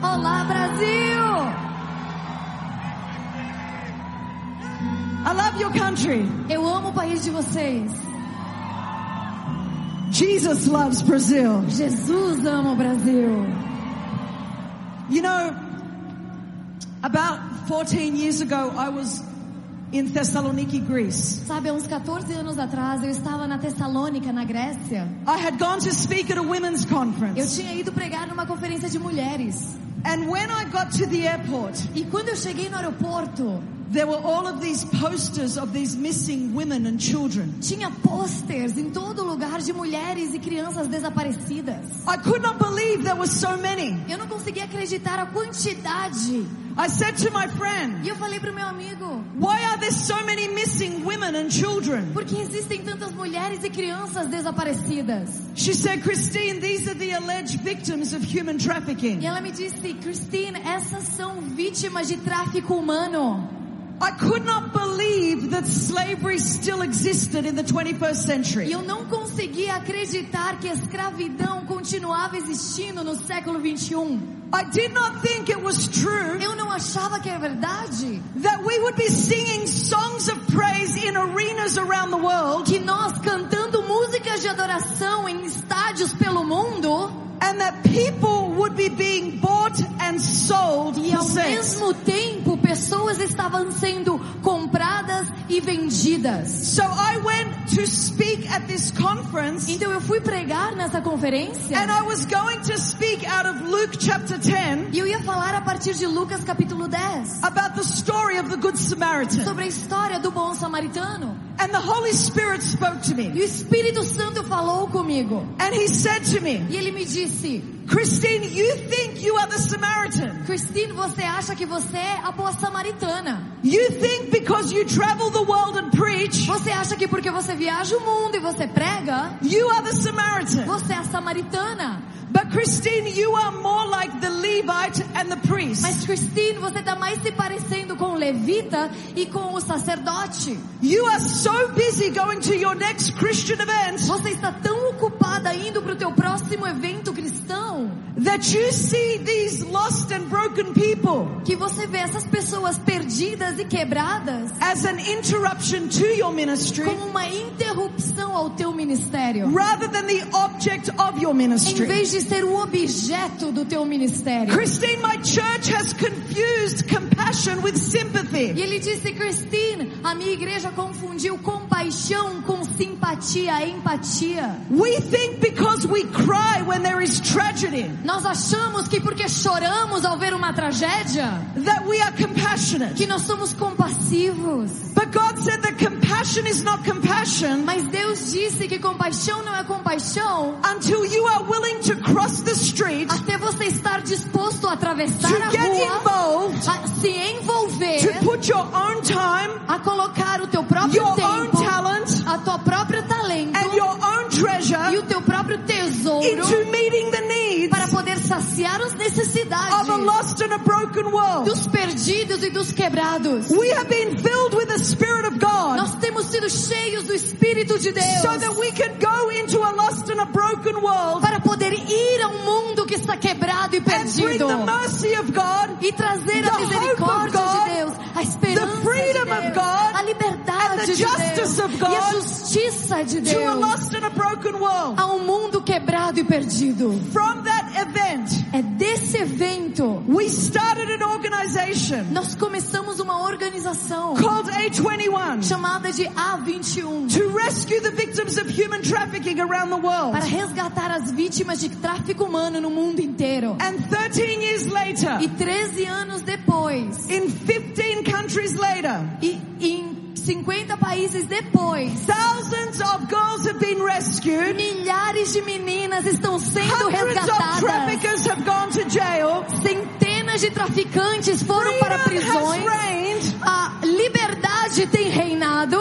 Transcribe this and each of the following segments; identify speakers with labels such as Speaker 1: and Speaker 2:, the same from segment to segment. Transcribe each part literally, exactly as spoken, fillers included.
Speaker 1: Olá, Brasil!
Speaker 2: I love your country.
Speaker 1: Eu amo o país de vocês.
Speaker 2: Jesus loves Brazil.
Speaker 1: Jesus ama o Brasil.
Speaker 2: You know, about fourteen years ago, I was in Thessaloniki, Greece.
Speaker 1: Sabe, há uns quatorze anos atrás, eu estava na Tessalônica, na Grécia.
Speaker 2: I had gone to speak at a women's
Speaker 1: Eu
Speaker 2: conference.
Speaker 1: tinha ido pregar numa conferência de mulheres.
Speaker 2: And when I got to the airport,
Speaker 1: E quando eu cheguei no aeroporto,
Speaker 2: there were all of these posters of these missing women and children.
Speaker 1: tinha posters em todo lugar de mulheres e crianças desaparecidas.
Speaker 2: I could not believe there were so many.
Speaker 1: Eu não conseguia acreditar a quantidade.
Speaker 2: I said to my friend,
Speaker 1: E eu falei pro meu amigo,
Speaker 2: why are there so many missing women and children?
Speaker 1: por que existem tantas mulheres e crianças desaparecidas?
Speaker 2: She said, Christine, these are the alleged victims of human
Speaker 1: E
Speaker 2: trafficking.
Speaker 1: ela me disse, Christine, essas são vítimas de tráfico humano.
Speaker 2: I could not believe that slavery still existed in the twenty-first
Speaker 1: E
Speaker 2: century.
Speaker 1: eu não conseguia acreditar que a escravidão continuava existindo no século vinte e um.
Speaker 2: I did not think it was true
Speaker 1: Eu não achava que é verdade.
Speaker 2: that we would be singing songs of praise in arenas around the world,
Speaker 1: Que nós cantando músicas de adoração em estádios pelo mundo,
Speaker 2: and that people would be being bought and sold
Speaker 1: e
Speaker 2: for
Speaker 1: ao
Speaker 2: sex.
Speaker 1: mesmo tempo pessoas estavam sendo compradas e vendidas.
Speaker 2: So I went to speak at this conference,
Speaker 1: Então eu fui pregar nessa conferência
Speaker 2: and I was going to speak out of Luke chapter ten
Speaker 1: e eu ia falar a partir de Lucas capítulo dez
Speaker 2: about the story of the Good Samaritan.
Speaker 1: sobre a história do bom samaritano.
Speaker 2: And the Holy Spirit spoke to me,
Speaker 1: E o Espírito Santo falou comigo.
Speaker 2: and He said to me,
Speaker 1: E ele me disse,
Speaker 2: Christine, you think you are the Samaritan.
Speaker 1: Christine, você acha que você é a boa samaritana?
Speaker 2: You think because you travel the world and preach,
Speaker 1: Você acha que porque você viaja o mundo e você prega,
Speaker 2: you are the Samaritan.
Speaker 1: você é a samaritana?
Speaker 2: But Christine, you are more like the Levite and the priest.
Speaker 1: Mas Christine, você está mais se parecendo com o levita e com o sacerdote.
Speaker 2: You are so busy going to your next Christian event
Speaker 1: Você está tão ocupada indo para o teu próximo evento cristão
Speaker 2: that you see these lost and broken people
Speaker 1: que você vê essas pessoas perdidas e quebradas
Speaker 2: as an interruption to your ministry
Speaker 1: como uma interrupção ao teu ministério,
Speaker 2: rather than the object of your
Speaker 1: em
Speaker 2: ministry.
Speaker 1: vez de ser o objeto do teu ministério.
Speaker 2: Christine, my church has confused compassion with sympathy.
Speaker 1: E ele disse, Christine, a minha igreja confundiu compaixão com simpatia, empatia.
Speaker 2: We think because we cry when there is tragedy
Speaker 1: Nós achamos que porque choramos ao ver uma tragédia,
Speaker 2: that we are compassionate.
Speaker 1: que nós somos compassivos.
Speaker 2: But God said that compassion is not compassion
Speaker 1: Mas Deus disse que compaixão não é compaixão
Speaker 2: until you are willing to cross the street,
Speaker 1: até você estar disposto a atravessar
Speaker 2: to
Speaker 1: a
Speaker 2: get
Speaker 1: rua,
Speaker 2: involved,
Speaker 1: a se envolver,
Speaker 2: to put your own time,
Speaker 1: a colocar o teu próprio
Speaker 2: your own
Speaker 1: tempo,
Speaker 2: talent,
Speaker 1: a tua própria talento
Speaker 2: and your own
Speaker 1: e
Speaker 2: treasure
Speaker 1: o teu próprio tesouro
Speaker 2: into meeting the needs
Speaker 1: para poder saciar as necessidades
Speaker 2: of a lost and a broken world.
Speaker 1: dos perdidos e dos quebrados.
Speaker 2: We have been filled with the Spirit of God
Speaker 1: Nós temos sido cheios do Espírito de Deus
Speaker 2: so that we can go into a lost and a broken world
Speaker 1: para poder ir a um mundo que está quebrado e
Speaker 2: and bring
Speaker 1: perdido
Speaker 2: the mercy of God,
Speaker 1: e trazer
Speaker 2: the
Speaker 1: a
Speaker 2: hope
Speaker 1: misericórdia
Speaker 2: of God,
Speaker 1: de Deus, a esperança
Speaker 2: the freedom
Speaker 1: de
Speaker 2: of
Speaker 1: Deus,
Speaker 2: God,
Speaker 1: a
Speaker 2: and
Speaker 1: liberdade
Speaker 2: the
Speaker 1: de
Speaker 2: justice
Speaker 1: Deus
Speaker 2: of
Speaker 1: e a
Speaker 2: God
Speaker 1: justiça de
Speaker 2: to a
Speaker 1: Deus
Speaker 2: lost and a broken world.
Speaker 1: a um mundo quebrado e perdido.
Speaker 2: From that event,
Speaker 1: É desse evento
Speaker 2: we started an organization
Speaker 1: nós começamos uma organização
Speaker 2: called A twenty-one
Speaker 1: chamada de A vinte e um
Speaker 2: to rescue the victims of human trafficking around the world.
Speaker 1: para resgatar as vítimas de tráfico humano no mundo inteiro.
Speaker 2: And thirteen years later,
Speaker 1: E treze anos depois,
Speaker 2: in fifteen countries later,
Speaker 1: e em cinquenta países depois,
Speaker 2: thousands of girls have been rescued.
Speaker 1: milhares de meninas estão sendo
Speaker 2: Hundreds of
Speaker 1: resgatadas.
Speaker 2: traffickers have gone to jail.
Speaker 1: Centenas de traficantes foram para
Speaker 2: Freedom has
Speaker 1: prisões.
Speaker 2: reigned
Speaker 1: A liberdade tem reinado.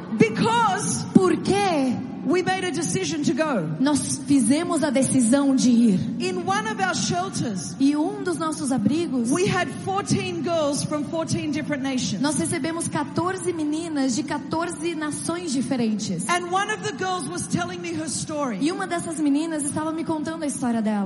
Speaker 2: because
Speaker 1: Por quê?
Speaker 2: we made a decision to go.
Speaker 1: Nós fizemos a decisão de ir.
Speaker 2: In one of our shelters,
Speaker 1: E um dos nossos abrigos,
Speaker 2: we had fourteen girls from fourteen different nations.
Speaker 1: nós recebemos quatorze meninas de quatorze nações diferentes.
Speaker 2: And one of the girls was telling me her story.
Speaker 1: E uma dessas meninas estava me contando a história dela.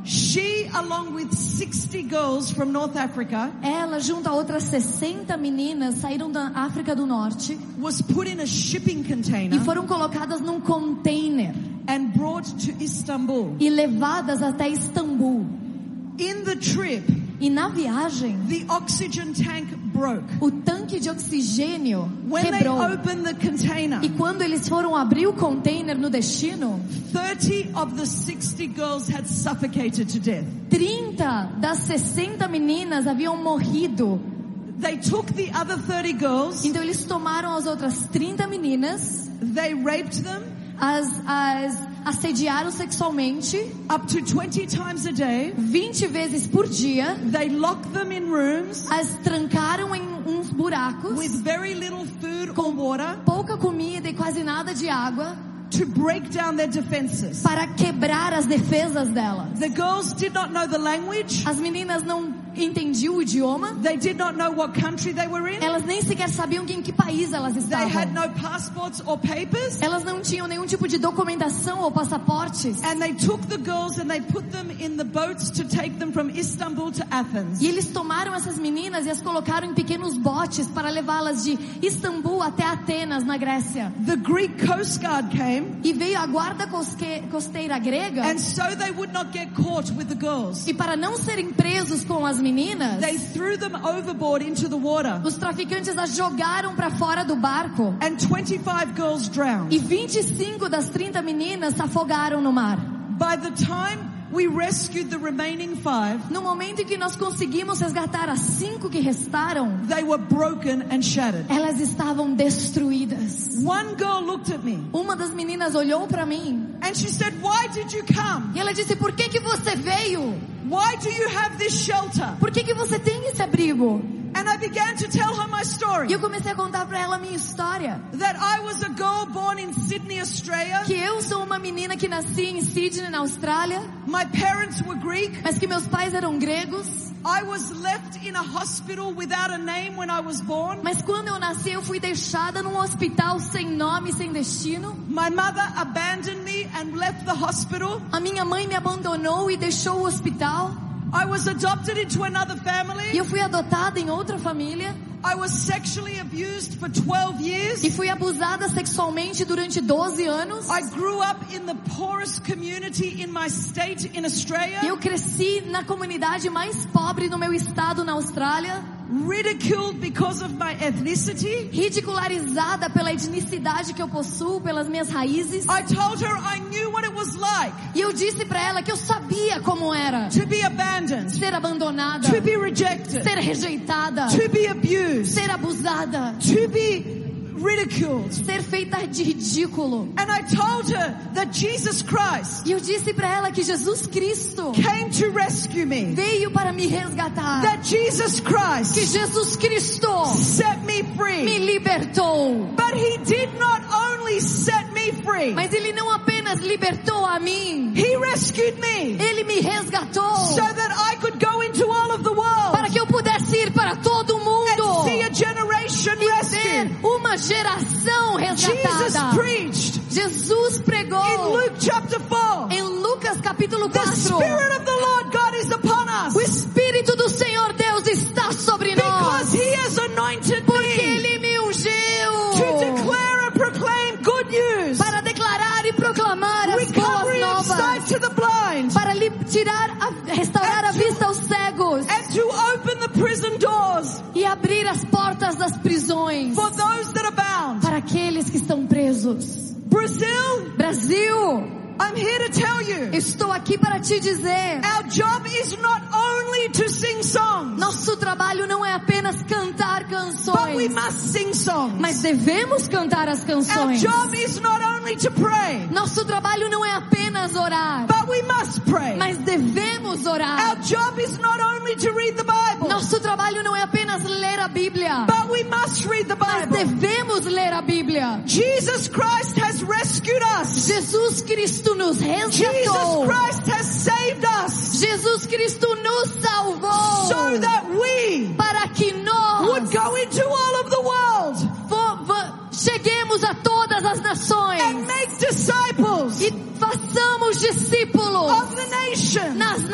Speaker 2: She, along with sixty girls from North Africa,
Speaker 1: ela junto a outras sessenta meninas saíram da África do Norte
Speaker 2: was put in a shipping
Speaker 1: e
Speaker 2: container
Speaker 1: foram colocadas num container
Speaker 2: and brought to Istanbul.
Speaker 1: e levadas até Istambul.
Speaker 2: In the trip,
Speaker 1: E na viagem,
Speaker 2: the oxygen tank broke.
Speaker 1: o tanque de oxigênio
Speaker 2: When they
Speaker 1: quebrou.
Speaker 2: opened the container,
Speaker 1: E quando eles foram abrir o container no destino,
Speaker 2: thirty of the sixty girls had suffocated to death.
Speaker 1: trinta das sessenta meninas haviam morrido.
Speaker 2: They took the other thirty girls,
Speaker 1: Então eles tomaram as outras trinta meninas,
Speaker 2: they raped them
Speaker 1: as, as assediaram sexualmente
Speaker 2: up to twenty times a day.
Speaker 1: vinte vezes por dia,
Speaker 2: They locked them in rooms
Speaker 1: as trancaram em uns buracos,
Speaker 2: with very little food or water
Speaker 1: pouca comida e quase nada de água,
Speaker 2: to break down their defenses.
Speaker 1: para quebrar as defesas delas.
Speaker 2: The girls did not know the language.
Speaker 1: As meninas não entendiam o idioma,
Speaker 2: They did not know what country they were in.
Speaker 1: elas nem sequer sabiam em que país elas
Speaker 2: They
Speaker 1: estavam.
Speaker 2: had no passports or papers.
Speaker 1: Elas não tinham nenhum tipo de documentação ou passaportes.
Speaker 2: And they took the girls and they put them in the boats to take them from Istanbul to Athens.
Speaker 1: E eles tomaram essas meninas e as colocaram em pequenos botes para levá-las de Istambul até Atenas, na Grécia.
Speaker 2: The Greek Coast Guard came,
Speaker 1: E veio a guarda cosque- costeira grega,
Speaker 2: and so they would not get caught with the girls,
Speaker 1: e para não serem presos com as meninas,
Speaker 2: they threw them overboard into the water,
Speaker 1: os traficantes as jogaram para fora do barco.
Speaker 2: and twenty-five girls drowned.
Speaker 1: E vinte e cinco das trinta meninas se afogaram no mar.
Speaker 2: By the time we rescued the remaining five,
Speaker 1: No momento em que nós conseguimos resgatar as cinco que restaram,
Speaker 2: they were broken and shattered.
Speaker 1: elas estavam destruídas.
Speaker 2: One girl looked at me
Speaker 1: Uma das meninas olhou para mim
Speaker 2: and she said, "Why did you come?
Speaker 1: e ela disse: por que que você veio?
Speaker 2: Why do you have this shelter?"
Speaker 1: Por que que você tem esse abrigo?
Speaker 2: And I began to tell her my
Speaker 1: E
Speaker 2: story.
Speaker 1: eu comecei a contar para ela a minha história.
Speaker 2: That I was a girl born in Sydney, Australia.
Speaker 1: Que eu sou uma menina que nasci em Sydney, na Austrália,
Speaker 2: My parents were Greek.
Speaker 1: mas que meus pais eram gregos.
Speaker 2: I was left in a hospital without a name when I was born.
Speaker 1: Mas quando eu nasci, eu fui deixada num hospital sem nome, sem destino.
Speaker 2: My mother abandoned me and left the hospital.
Speaker 1: A minha mãe me abandonou e deixou o hospital.
Speaker 2: I was adopted into another
Speaker 1: E
Speaker 2: family.
Speaker 1: eu fui adotada em outra família.
Speaker 2: I was sexually abused for twelve years.
Speaker 1: E fui abusada sexualmente durante doze anos.
Speaker 2: I grew up in the poorest community in my state in
Speaker 1: E
Speaker 2: Australia.
Speaker 1: eu cresci na comunidade mais pobre do meu estado, na Austrália.
Speaker 2: Ridiculed because of my ethnicity.
Speaker 1: Ridicularizada pela etnicidade que eu possuo, pelas minhas raízes.
Speaker 2: I told her I knew what it was like
Speaker 1: E eu disse pra ela que eu sabia como era
Speaker 2: to be abandoned,
Speaker 1: ser abandonada,
Speaker 2: to be rejected,
Speaker 1: ser rejeitada,
Speaker 2: to be abused,
Speaker 1: ser abusada,
Speaker 2: to be ridiculed.
Speaker 1: ser feita de ridículo.
Speaker 2: And I told her that Jesus Christ
Speaker 1: E eu disse pra ela que Jesus Cristo
Speaker 2: came to rescue me.
Speaker 1: veio para me resgatar.
Speaker 2: That Jesus
Speaker 1: Que
Speaker 2: Christ
Speaker 1: Jesus Cristo
Speaker 2: set me
Speaker 1: me
Speaker 2: free.
Speaker 1: libertou.
Speaker 2: But he did not only set me free.
Speaker 1: Mas Ele não apenas libertou a mim,
Speaker 2: He rescued me
Speaker 1: Ele me resgatou
Speaker 2: so that I could go into all of the world
Speaker 1: para que eu pudesse ir para todo o mundo
Speaker 2: and see a generation
Speaker 1: e ver
Speaker 2: rescued.
Speaker 1: uma geração
Speaker 2: Jesus
Speaker 1: resgatada.
Speaker 2: preached
Speaker 1: Jesus
Speaker 2: in
Speaker 1: pregou
Speaker 2: Luke chapter four.
Speaker 1: em Lucas capítulo
Speaker 2: The
Speaker 1: quatro.
Speaker 2: Spirit of the Lord God is upon us
Speaker 1: O Espírito do Senhor Deus está sobre
Speaker 2: because
Speaker 1: nós,
Speaker 2: He has anointed
Speaker 1: porque
Speaker 2: me
Speaker 1: Ele me
Speaker 2: to
Speaker 1: ungiu
Speaker 2: declare and proclaim good news,
Speaker 1: para declarar e proclamar as boas
Speaker 2: recovery of sight
Speaker 1: novas,
Speaker 2: to the blind,
Speaker 1: para lhe tirar, a, restaurar a vista aos cegos
Speaker 2: and to open the prison doors
Speaker 1: e abrir as portas das prisões
Speaker 2: for those that are bound.
Speaker 1: para aqueles que estão presos.
Speaker 2: Brazil,
Speaker 1: Brasil,
Speaker 2: I'm here to tell you,
Speaker 1: estou aqui para te dizer,
Speaker 2: our job is not only to sing songs,
Speaker 1: nosso trabalho não é apenas cantar
Speaker 2: but we
Speaker 1: canções,
Speaker 2: must sing songs.
Speaker 1: mas devemos cantar as
Speaker 2: Our
Speaker 1: canções.
Speaker 2: job is not only to pray,
Speaker 1: Nosso trabalho não é apenas orar,
Speaker 2: but we must pray.
Speaker 1: mas devemos orar.
Speaker 2: Our job is not only to read the Bible,
Speaker 1: Nosso trabalho não é apenas ler a Bíblia,
Speaker 2: but we must read the
Speaker 1: mas
Speaker 2: Bible.
Speaker 1: devemos ler a Bíblia.
Speaker 2: Jesus Christ has rescued us.
Speaker 1: Jesus Cristo nos
Speaker 2: Jesus
Speaker 1: resgatou.
Speaker 2: Christ has saved us
Speaker 1: Jesus Cristo nos salvou
Speaker 2: so that we
Speaker 1: para que nós
Speaker 2: would go into all of the world
Speaker 1: vo- vo- cheguemos a todas as nações
Speaker 2: and make disciples
Speaker 1: e façamos discípulos
Speaker 2: of the nations.
Speaker 1: nas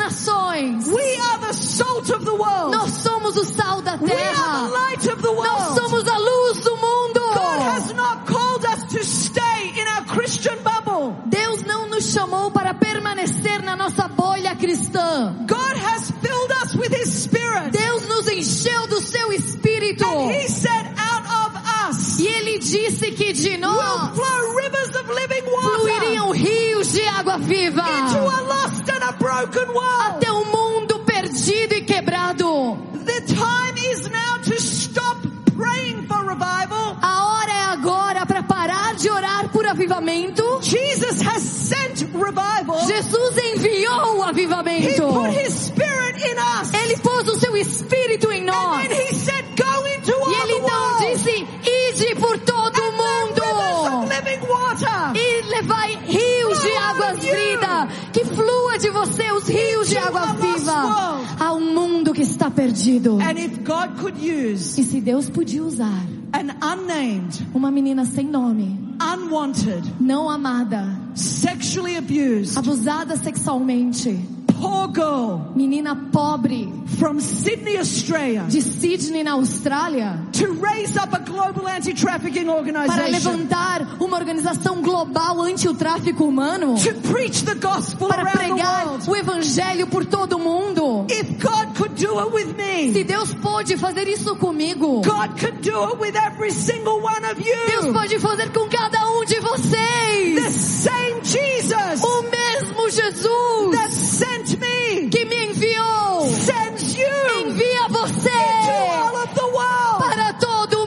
Speaker 1: nações.
Speaker 2: We are the salt of the world.
Speaker 1: Nós somos o sal da
Speaker 2: We are
Speaker 1: terra.
Speaker 2: the light of the world.
Speaker 1: Nós somos a luz do mundo.
Speaker 2: God has not called us to stay in our Christian bubble.
Speaker 1: Deus não nos chamou para permanecer na nossa bolha cristã.
Speaker 2: God has filled us with His Spirit.
Speaker 1: Deus nos encheu do seu Espírito.
Speaker 2: And He said, out of us
Speaker 1: E Ele disse que de
Speaker 2: will
Speaker 1: nós
Speaker 2: flow rivers of living water
Speaker 1: fluiriam rios de água viva
Speaker 2: into a lost and a broken world.
Speaker 1: até um mundo perdido e quebrado.
Speaker 2: The time is now to stop praying for revival.
Speaker 1: A hora é agora para parar de orar por avivamento.
Speaker 2: Jesus has sent revival.
Speaker 1: Jesus enviou o
Speaker 2: He
Speaker 1: avivamento.
Speaker 2: put His Spirit in us.
Speaker 1: Ele pôs o seu Espírito em
Speaker 2: And
Speaker 1: nós.
Speaker 2: then He said, go into all
Speaker 1: E Ele
Speaker 2: the
Speaker 1: então
Speaker 2: world.
Speaker 1: disse, ide por todo o
Speaker 2: Rivers of
Speaker 1: mundo.
Speaker 2: living water.
Speaker 1: E levai rios de águas vida. Que flua de você os rios de água viva. A um mundo que está perdido.
Speaker 2: And if God could use
Speaker 1: E se Deus podia usar
Speaker 2: an unnamed,
Speaker 1: uma menina sem nome,
Speaker 2: unwanted,
Speaker 1: não amada,
Speaker 2: sexually abused,
Speaker 1: abusada sexualmente,
Speaker 2: poor girl
Speaker 1: menina pobre
Speaker 2: from Sydney, Australia,
Speaker 1: de Sydney na Austrália,
Speaker 2: to raise up a global anti-trafficking
Speaker 1: para
Speaker 2: organization,
Speaker 1: levantar uma organização global anti o tráfico humano,
Speaker 2: to preach the gospel
Speaker 1: para
Speaker 2: around the
Speaker 1: pregar
Speaker 2: world.
Speaker 1: o evangelho por todo o mundo.
Speaker 2: If God could do it with
Speaker 1: Se
Speaker 2: me,
Speaker 1: Deus pôde fazer isso comigo,
Speaker 2: God could do it with every single one of
Speaker 1: Deus
Speaker 2: you.
Speaker 1: pode fazer com cada um de
Speaker 2: The
Speaker 1: vocês.
Speaker 2: same Jesus
Speaker 1: O mesmo Jesus
Speaker 2: that sent me
Speaker 1: que me enviou
Speaker 2: sends you
Speaker 1: envia
Speaker 2: to
Speaker 1: você
Speaker 2: all of the world.
Speaker 1: para todo o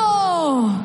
Speaker 1: mundo.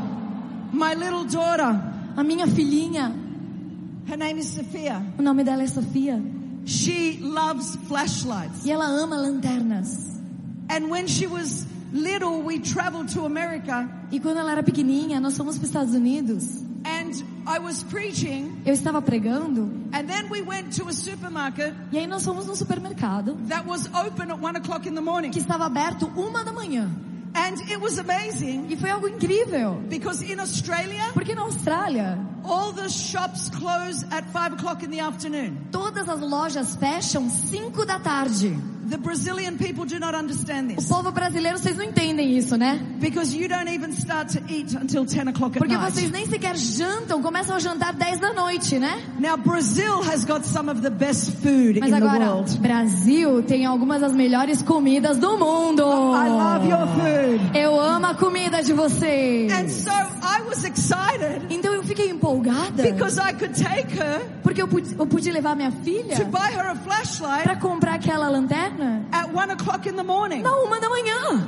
Speaker 2: My little daughter,
Speaker 1: A minha filhinha,
Speaker 2: her name is Sophia.
Speaker 1: o nome dela é Sofia,
Speaker 2: She loves flashlights.
Speaker 1: e ela ama lanternas.
Speaker 2: And when she was little, we traveled to America,
Speaker 1: E quando ela era pequenininha, nós fomos para os Estados Unidos.
Speaker 2: and I was preaching,
Speaker 1: Eu estava pregando,
Speaker 2: and then we went to a supermarket
Speaker 1: e aí nós fomos num supermercado
Speaker 2: that was open at one o'clock in the morning.
Speaker 1: que estava aberto uma da manhã.
Speaker 2: And it was amazing
Speaker 1: E foi algo incrível,
Speaker 2: because in Australia,
Speaker 1: porque na Austrália,
Speaker 2: all the shops close at five o'clock in the afternoon.
Speaker 1: todas as lojas fecham cinco da tarde.
Speaker 2: The Brazilian people do not understand
Speaker 1: O
Speaker 2: this
Speaker 1: povo brasileiro, vocês não entendem isso, né?
Speaker 2: because you don't even start to eat until ten o'clock at
Speaker 1: Porque
Speaker 2: night.
Speaker 1: vocês nem sequer jantam, começam a jantar dez da noite, né?
Speaker 2: Now Brazil has got some of the best food
Speaker 1: Mas
Speaker 2: in the
Speaker 1: agora,
Speaker 2: world.
Speaker 1: Brasil tem algumas das melhores comidas do mundo.
Speaker 2: I love your food.
Speaker 1: Eu amo a comida de vocês.
Speaker 2: And so I was excited
Speaker 1: Então eu fiquei empolgada,
Speaker 2: because I could take her
Speaker 1: porque eu pude, eu pude levar minha filha
Speaker 2: to buy her a flashlight
Speaker 1: para comprar aquela lanterna
Speaker 2: at one o'clock in the morning.
Speaker 1: na uma da manhã.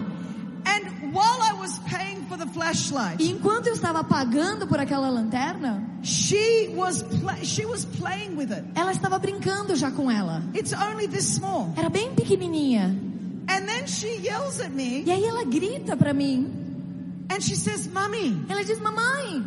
Speaker 2: And while I was paying for the flashlight,
Speaker 1: E enquanto eu estava pagando por aquela lanterna,
Speaker 2: she was pla- she was playing with it.
Speaker 1: ela estava brincando já com ela.
Speaker 2: It's only this small.
Speaker 1: Era bem pequenininha.
Speaker 2: And then she yells at me
Speaker 1: E aí ela grita para mim.
Speaker 2: and she says, "Mummy,
Speaker 1: Ela diz: "Mamãe,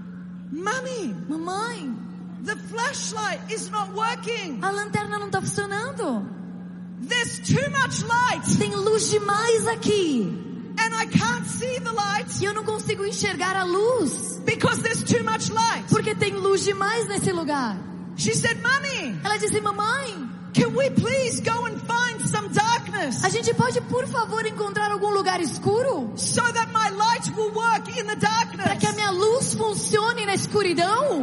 Speaker 2: Mummy,
Speaker 1: mamãe,
Speaker 2: the flashlight is not working.
Speaker 1: a lanterna não está funcionando.
Speaker 2: There's too much light
Speaker 1: Tem luz demais aqui.
Speaker 2: and I can't see the light
Speaker 1: E eu não consigo enxergar a luz,
Speaker 2: because there's too much light."
Speaker 1: porque tem luz demais nesse lugar."
Speaker 2: She said, "Mummy,
Speaker 1: Ela disse: "Mamãe,
Speaker 2: can we please go and find some darkness
Speaker 1: a gente pode, por favor, encontrar algum lugar escuro
Speaker 2: so that my light will work in the
Speaker 1: para que a
Speaker 2: darkness?"
Speaker 1: minha luz funcione na escuridão?"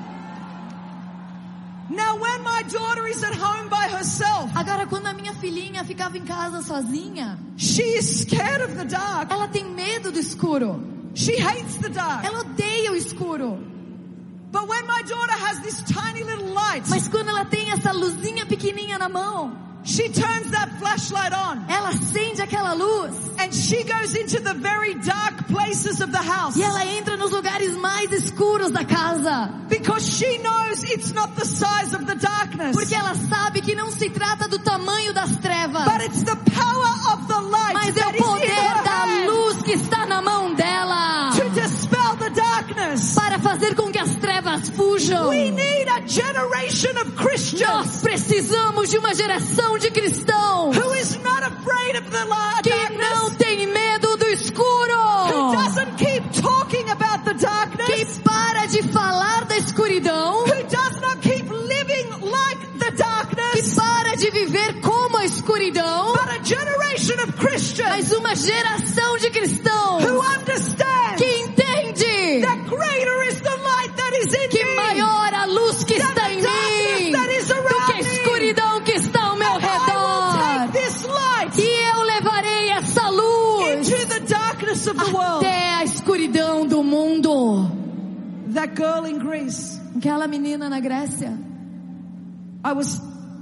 Speaker 2: Now when my daughter is at home by herself,
Speaker 1: Agora, quando a minha filhinha ficava em casa sozinha,
Speaker 2: she is scared of the dark.
Speaker 1: ela tem medo do escuro.
Speaker 2: She hates the dark.
Speaker 1: Ela odeia o escuro.
Speaker 2: But when my daughter has this tiny little light,
Speaker 1: Mas quando ela tem essa luzinha pequenininha na mão,
Speaker 2: she turns that flashlight on
Speaker 1: ela acende aquela luz
Speaker 2: and she goes into the very dark places of the house
Speaker 1: e ela entra nos lugares mais escuros da casa,
Speaker 2: because she knows it's not the size of the darkness,
Speaker 1: porque ela sabe que não se trata do tamanho das trevas,
Speaker 2: but it's the power of the light
Speaker 1: mas é
Speaker 2: that
Speaker 1: o
Speaker 2: is in
Speaker 1: poder
Speaker 2: her
Speaker 1: da
Speaker 2: hand
Speaker 1: luz que está na mão dela
Speaker 2: to dispel the darkness.
Speaker 1: para fazer com que as trevas fujam.
Speaker 2: We need a generation of Christians
Speaker 1: Nós precisamos de uma geração de cristãos
Speaker 2: who is not afraid of the light,
Speaker 1: que não
Speaker 2: darkness,
Speaker 1: tem medo do
Speaker 2: who
Speaker 1: escuro,
Speaker 2: doesn't keep talking about the
Speaker 1: que
Speaker 2: darkness,
Speaker 1: para de falar da escuridão,
Speaker 2: who does not keep living like the
Speaker 1: que
Speaker 2: darkness,
Speaker 1: para de viver como a escuridão,
Speaker 2: but a generation of Christians
Speaker 1: mas uma geração de cristãos
Speaker 2: who understand
Speaker 1: que entende
Speaker 2: that greater is the light that is in
Speaker 1: que
Speaker 2: me
Speaker 1: maior a luz que está em mim
Speaker 2: that is
Speaker 1: do que a
Speaker 2: around me.
Speaker 1: escuridão que está ao meu
Speaker 2: And I will
Speaker 1: redor.
Speaker 2: take this light
Speaker 1: E eu levarei essa luz
Speaker 2: into the darkness of the world.
Speaker 1: até a escuridão do mundo.
Speaker 2: That girl in Greece,
Speaker 1: Aquela menina na Grécia,
Speaker 2: I was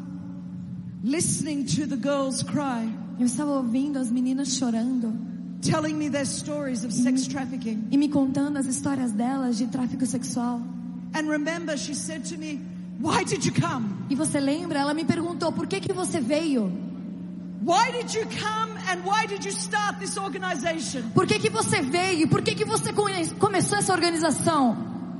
Speaker 2: listening to the girls cry,
Speaker 1: eu estava ouvindo as meninas chorando
Speaker 2: telling me their stories of sex trafficking.
Speaker 1: e me contando as histórias delas de tráfico sexual.
Speaker 2: And remember, she said to me, why did you come?
Speaker 1: E você lembra? Ela me perguntou, por que que você veio?
Speaker 2: Why did you come and why did you start this organization?
Speaker 1: Por que que você veio? Por que que você conhe- começou essa organização?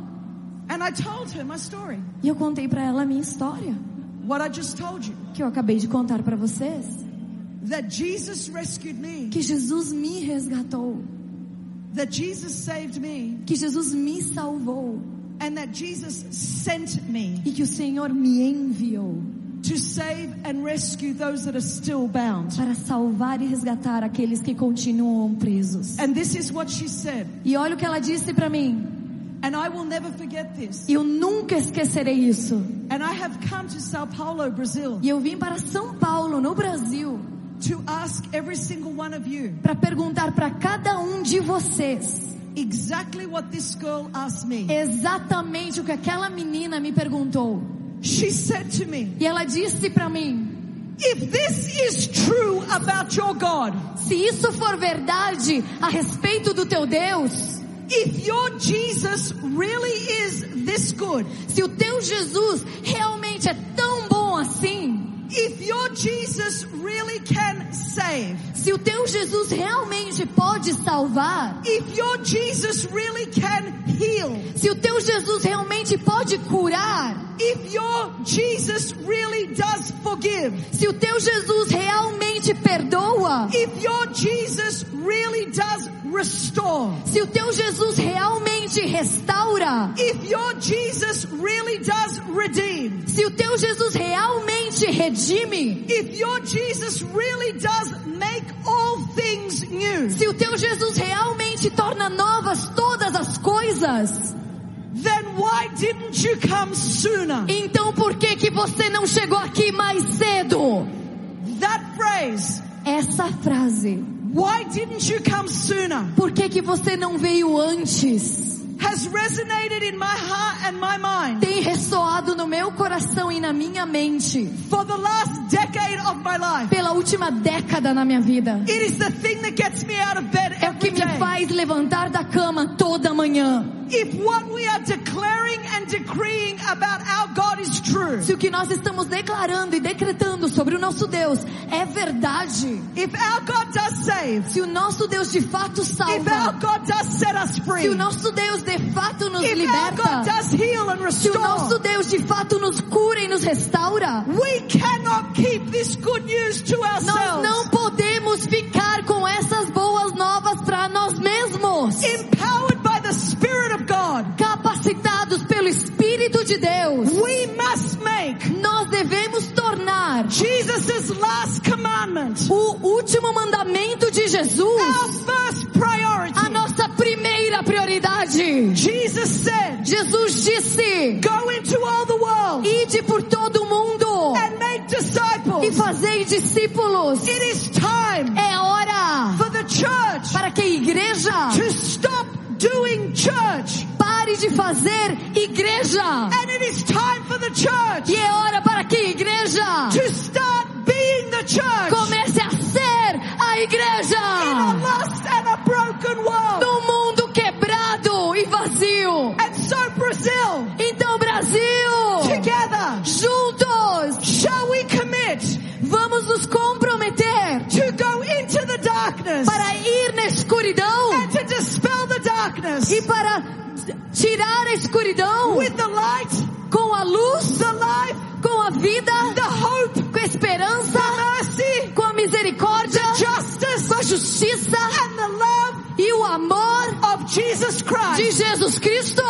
Speaker 2: And I told her my story,
Speaker 1: E eu contei para ela a minha história,
Speaker 2: what I just told you,
Speaker 1: que eu acabei de contar para vocês.
Speaker 2: that Jesus rescued me,
Speaker 1: Que Jesus me resgatou,
Speaker 2: that Jesus saved me,
Speaker 1: que Jesus me salvou
Speaker 2: and that Jesus sent me
Speaker 1: e que o Senhor me enviou
Speaker 2: to save and rescue those that are still bound.
Speaker 1: para salvar e resgatar aqueles que continuam presos.
Speaker 2: And this is what she said,
Speaker 1: E olha o que ela disse para mim,
Speaker 2: and I will never forget this.
Speaker 1: e eu nunca esquecerei isso.
Speaker 2: And I have come to Sao Paulo, Brazil,
Speaker 1: E eu vim para São Paulo, no Brasil,
Speaker 2: to ask every single one of you
Speaker 1: para perguntar para cada um de vocês
Speaker 2: exactly what this girl asked me.
Speaker 1: exatamente o que aquela menina me perguntou.
Speaker 2: She said to me,
Speaker 1: E ela disse para mim,
Speaker 2: if this is true about your God,
Speaker 1: se isso for verdade a respeito do teu Deus,
Speaker 2: if your Jesus really is this good,
Speaker 1: se o teu Jesus realmente é tão bom assim,
Speaker 2: if your Jesus really can save,
Speaker 1: se o teu Jesus realmente pode salvar,
Speaker 2: if your Jesus really can heal,
Speaker 1: se o teu Jesus realmente pode curar,
Speaker 2: if your Jesus really does forgive,
Speaker 1: se o teu Jesus realmente perdoa,
Speaker 2: if your Jesus really does restore,
Speaker 1: se o teu Jesus realmente restaura,
Speaker 2: if your Jesus really does redeem,
Speaker 1: se o teu Jesus realmente redime,
Speaker 2: if your Jesus really does make all things new,
Speaker 1: se o teu Jesus realmente torna novas todas as coisas,
Speaker 2: then why didn't you come sooner?
Speaker 1: então por que que você não chegou aqui mais cedo?
Speaker 2: That phrase,
Speaker 1: Essa frase,
Speaker 2: why didn't you come sooner,
Speaker 1: por que que você não veio antes,
Speaker 2: has resonated in my heart and my mind
Speaker 1: tem ressoado no meu coração e na minha mente
Speaker 2: for the last decade of my life.
Speaker 1: pela última década na minha vida.
Speaker 2: It is the thing that gets me out of bed
Speaker 1: É o que
Speaker 2: every
Speaker 1: me
Speaker 2: day.
Speaker 1: faz levantar da cama toda manhã.
Speaker 2: If what we are declaring and decreeing about our God is true,
Speaker 1: Se o que nós estamos declarando e decretando sobre o nosso Deus é verdade,
Speaker 2: if our God does save,
Speaker 1: se o nosso Deus de fato
Speaker 2: if our
Speaker 1: salva,
Speaker 2: God does set us free,
Speaker 1: se o nosso Deus de fato nos
Speaker 2: if our God
Speaker 1: liberta,
Speaker 2: does heal and
Speaker 1: se o nosso
Speaker 2: restore,
Speaker 1: Deus de fato nos cura e nos restaura,
Speaker 2: we cannot keep this good news to
Speaker 1: nós
Speaker 2: ourselves.
Speaker 1: não podemos ficar com essas boas novas para nós mesmos.
Speaker 2: Empowered by the Spirit of God,
Speaker 1: Capacitados pelo Espírito de Deus,
Speaker 2: we must make
Speaker 1: nós devemos tornar
Speaker 2: Jesus' last commandment
Speaker 1: o último mandamento de
Speaker 2: our
Speaker 1: Jesus
Speaker 2: first priority.
Speaker 1: a nossa primeira prioridade.
Speaker 2: Jesus said,
Speaker 1: Jesus disse,
Speaker 2: go into all the world
Speaker 1: ide por todo o mundo
Speaker 2: and make
Speaker 1: e
Speaker 2: disciples.
Speaker 1: fazei discípulos.
Speaker 2: It is time
Speaker 1: É hora
Speaker 2: for the church
Speaker 1: para que a igreja
Speaker 2: to stop doing church.
Speaker 1: pare de fazer igreja.
Speaker 2: And it is time for the church
Speaker 1: E é hora para que a igreja
Speaker 2: to start being the church
Speaker 1: comece a ser a
Speaker 2: in a
Speaker 1: igreja
Speaker 2: lost and a broken world.
Speaker 1: no mundo quebrado e vazio.
Speaker 2: And so Brazil,
Speaker 1: Então, Brasil,
Speaker 2: together,
Speaker 1: juntos,
Speaker 2: shall we commit
Speaker 1: vamos nos comprometer
Speaker 2: to go into the darkness
Speaker 1: para ir na escuridão
Speaker 2: and to dispel the darkness
Speaker 1: e para tirar a escuridão
Speaker 2: with the light,
Speaker 1: com a luz,
Speaker 2: the life,
Speaker 1: com a vida,
Speaker 2: the hope,
Speaker 1: com a esperança,
Speaker 2: the mercy,
Speaker 1: com a misericórdia,
Speaker 2: justice,
Speaker 1: com a justiça
Speaker 2: and the love
Speaker 1: e o amor
Speaker 2: of Jesus Christ.
Speaker 1: de Jesus Cristo.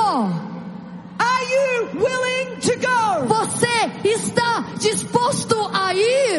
Speaker 2: Are you willing to go?
Speaker 1: Você está disposto a ir?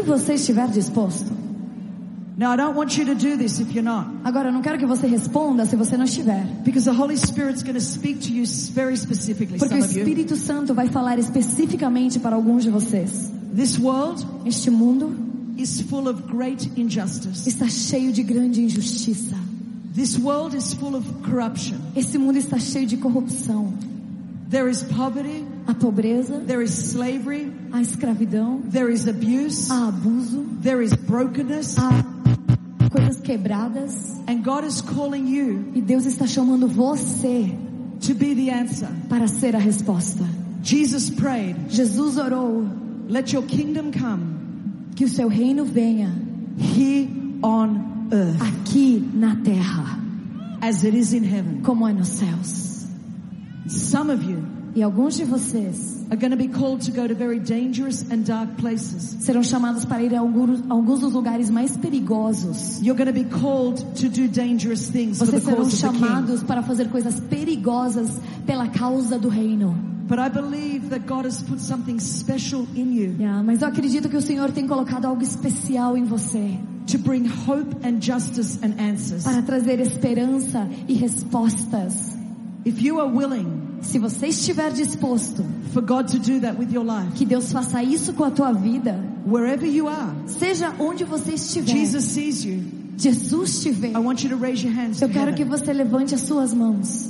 Speaker 1: você estiver disposto.
Speaker 2: Now, I don't want you to do this if you're not.
Speaker 1: Agora, eu não quero que você responda se você não estiver.
Speaker 2: Because the Holy Spirit's going to speak to you very specifically,
Speaker 1: Porque
Speaker 2: some
Speaker 1: o
Speaker 2: of you.
Speaker 1: Espírito Santo vai falar especificamente para alguns de vocês.
Speaker 2: This world
Speaker 1: Este mundo
Speaker 2: is full of great injustice.
Speaker 1: está cheio de grande injustiça.
Speaker 2: This world is full of corruption.
Speaker 1: Esse mundo está cheio de corrupção.
Speaker 2: There is poverty.
Speaker 1: A pobreza,
Speaker 2: There is slavery.
Speaker 1: a escravidão,
Speaker 2: There is abuse.
Speaker 1: há abuso,
Speaker 2: There is brokenness.
Speaker 1: há coisas quebradas.
Speaker 2: And God is calling you
Speaker 1: E Deus está chamando você
Speaker 2: to be the answer.
Speaker 1: para ser a resposta.
Speaker 2: Jesus prayed,
Speaker 1: Jesus orou
Speaker 2: let your kingdom come
Speaker 1: que o seu reino venha
Speaker 2: here on earth
Speaker 1: aqui na terra,
Speaker 2: as it is in heaven.
Speaker 1: como é nos céus.
Speaker 2: Some of you
Speaker 1: E alguns de vocês
Speaker 2: are going to be called to go to very dangerous and dark places.
Speaker 1: serão chamados para ir a alguns, alguns dos lugares mais perigosos.
Speaker 2: You're going to be called to do dangerous things for the
Speaker 1: Vocês serão
Speaker 2: cause of the King.
Speaker 1: chamados para fazer coisas perigosas pela causa do reino.
Speaker 2: But I believe that God has put something special in you
Speaker 1: Yeah, mas eu acredito que o Senhor tem colocado algo especial em você
Speaker 2: to bring hope and justice and answers.
Speaker 1: para trazer esperança e respostas.
Speaker 2: If you are willing
Speaker 1: Se você estiver disposto
Speaker 2: for God to do that with your life,
Speaker 1: que Deus faça isso com a tua vida,
Speaker 2: wherever you are,
Speaker 1: seja onde você estiver,
Speaker 2: Jesus sees you.
Speaker 1: Jesus te vê.
Speaker 2: I want you to raise your hands to
Speaker 1: Eu quero que
Speaker 2: heaven.
Speaker 1: você levante as suas mãos.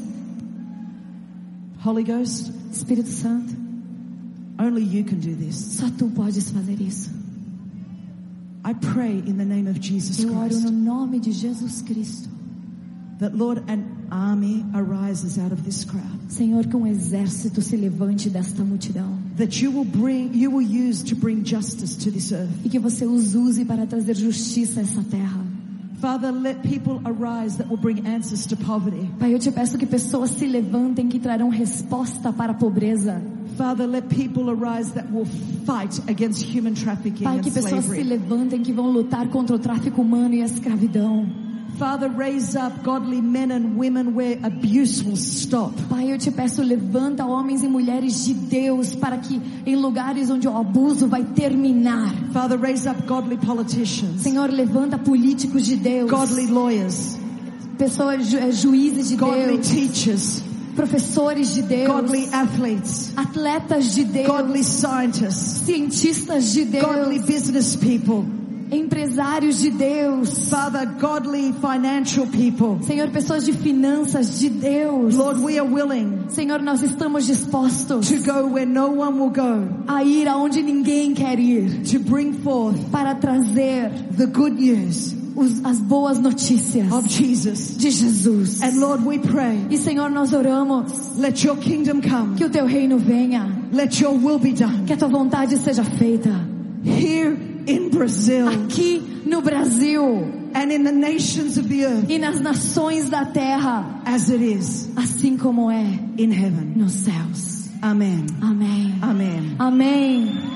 Speaker 2: Holy Ghost,
Speaker 1: Espírito Santo,
Speaker 2: only you can do this.
Speaker 1: só tu podes fazer isso.
Speaker 2: I pray in the name of Jesus
Speaker 1: Eu oro
Speaker 2: Christ
Speaker 1: no nome de Jesus Cristo.
Speaker 2: that, Lord, an army arises out of this crowd.
Speaker 1: Senhor, que um exército se levante desta multidão.
Speaker 2: That you will bring, you will use to bring justice to this earth.
Speaker 1: E que você os use para trazer justiça a essa terra.
Speaker 2: Father, let people arise that will bring answers to poverty.
Speaker 1: Pai, eu te peço que pessoas se levantem que trarão resposta para a pobreza.
Speaker 2: Father, let people arise that will fight against human trafficking
Speaker 1: Pai,
Speaker 2: and
Speaker 1: que pessoas se
Speaker 2: slavery.
Speaker 1: levantem que vão lutar contra o tráfico humano e a escravidão.
Speaker 2: Father, raise up godly men and women where abuse will stop.
Speaker 1: Pai, eu te peço, levanta homens e mulheres de Deus para que em lugares onde o abuso vai terminar.
Speaker 2: Father, raise up godly politicians,
Speaker 1: Senhor, levanta políticos de Deus,
Speaker 2: godly lawyers,
Speaker 1: pessoas, ju, eh, juízes de
Speaker 2: godly
Speaker 1: Deus,
Speaker 2: teachers,
Speaker 1: professores de Deus,
Speaker 2: godly athletes,
Speaker 1: atletas de Deus,
Speaker 2: godly scientists,
Speaker 1: cientistas de
Speaker 2: godly
Speaker 1: Deus,
Speaker 2: business people.
Speaker 1: empresários de Deus.
Speaker 2: Father, godly financial people.
Speaker 1: Senhor, pessoas de finanças de Deus.
Speaker 2: Lord, we are willing
Speaker 1: Senhor, nós estamos dispostos
Speaker 2: to go where no one will go,
Speaker 1: a ir aonde ninguém quer ir,
Speaker 2: to bring forth
Speaker 1: para trazer
Speaker 2: the good news
Speaker 1: os, as boas notícias
Speaker 2: of Jesus.
Speaker 1: de Jesus.
Speaker 2: And Lord, we pray,
Speaker 1: E Senhor, nós oramos
Speaker 2: let your kingdom come,
Speaker 1: que o teu reino venha,
Speaker 2: let your will be done
Speaker 1: que a tua vontade seja feita
Speaker 2: here in Brazil
Speaker 1: aqui no Brasil
Speaker 2: and in the nations of the earth
Speaker 1: e nas nações da terra,
Speaker 2: as it is
Speaker 1: assim como é
Speaker 2: in heaven.
Speaker 1: nos céus.
Speaker 2: Amen.
Speaker 1: Amém.
Speaker 2: Amen.
Speaker 1: Amém.